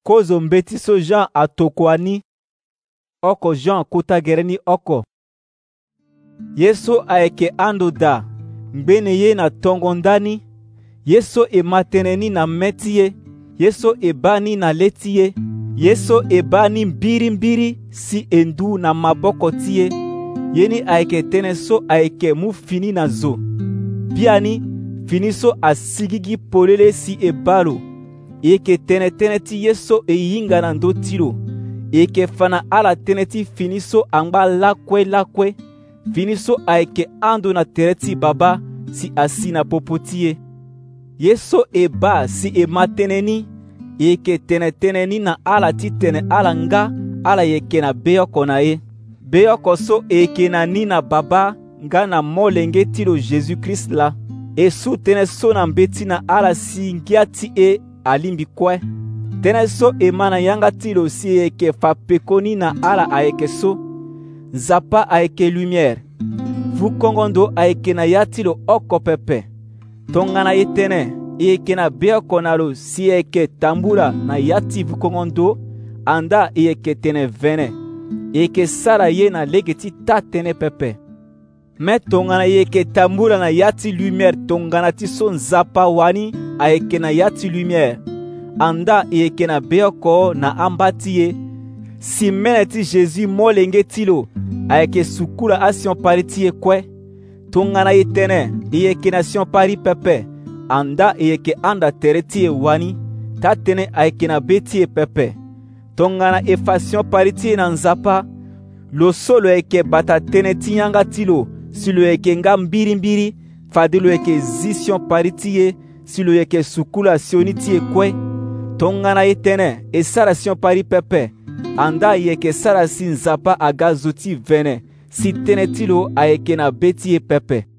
kozo mbeti so Jean atokwani oko Jean kutagereni oko. Yesu ayeke ando da ngbene ye na tongo ndani. Yesu emateneni na meti ye. Yesu ebani na leti ye. Yesu ebani mbiri si endu na maboko ti ye. Yeni ayeke tënë so ayeke mu fini na zo. Biani fini so asigigi polele si ebalo. E yeke tënë ti ye so e hinga na ndö ti lo. E yeke fana ala tënë ti fini so angba lakue. Fini so ayeke ando na tere ti Baba si asi na popo ti ye. Ye so e ba si e ma tënë ni. E yeke tënë ni na ala ti tene ala nga ala yeke na beoko na ye. Beoko so e yeke na ni na Baba nga na molenge ti lo Jésus-Christ la. E su tënë so na mbeti na ala si ngia ti e alimbi kue. Tënë so e ma na yanga ti lo si e yeke fa peko ni na ala ayeke so. Nzapa ayeke lumière. Vukongondo ayeke na ya ti lo oko pepe. Tongana ye tënë e yeke na beoko na lo si e yeke tambula na ya ti vukongondo anda e yeke tene vene. E yeke sara ye na lege ti ta tënë pepe. Me tongana e yeke tambula na ya ti lumière tongana ti so nzapa wani ayeke na ya ti lumière. Anda e yeke na beoko na amba ti ye. Si mene ti Jésus molenge ti lo ayeke sukula asion pari ti ye kue. Tongana ye tënë e yeke na sion pari pepe. Anda e yeke anda tere ti ye wani. Ta tënë ayeke na be ti ye pepe. Tongana e fa sion pari ti ye na nzapa. Lo so lo yeke bata tënë ti yanga ti lo si lo yeke nga mbiri fade lo yeke zi sion pari ti ye si lo yeke sukula sioni ti ye kue. Tongana ye tënë e sara sion pari pepe. Anda e yeke sara si nzapa aga zo ti vene si tënë ti lo ayeke na be ti ye pepe.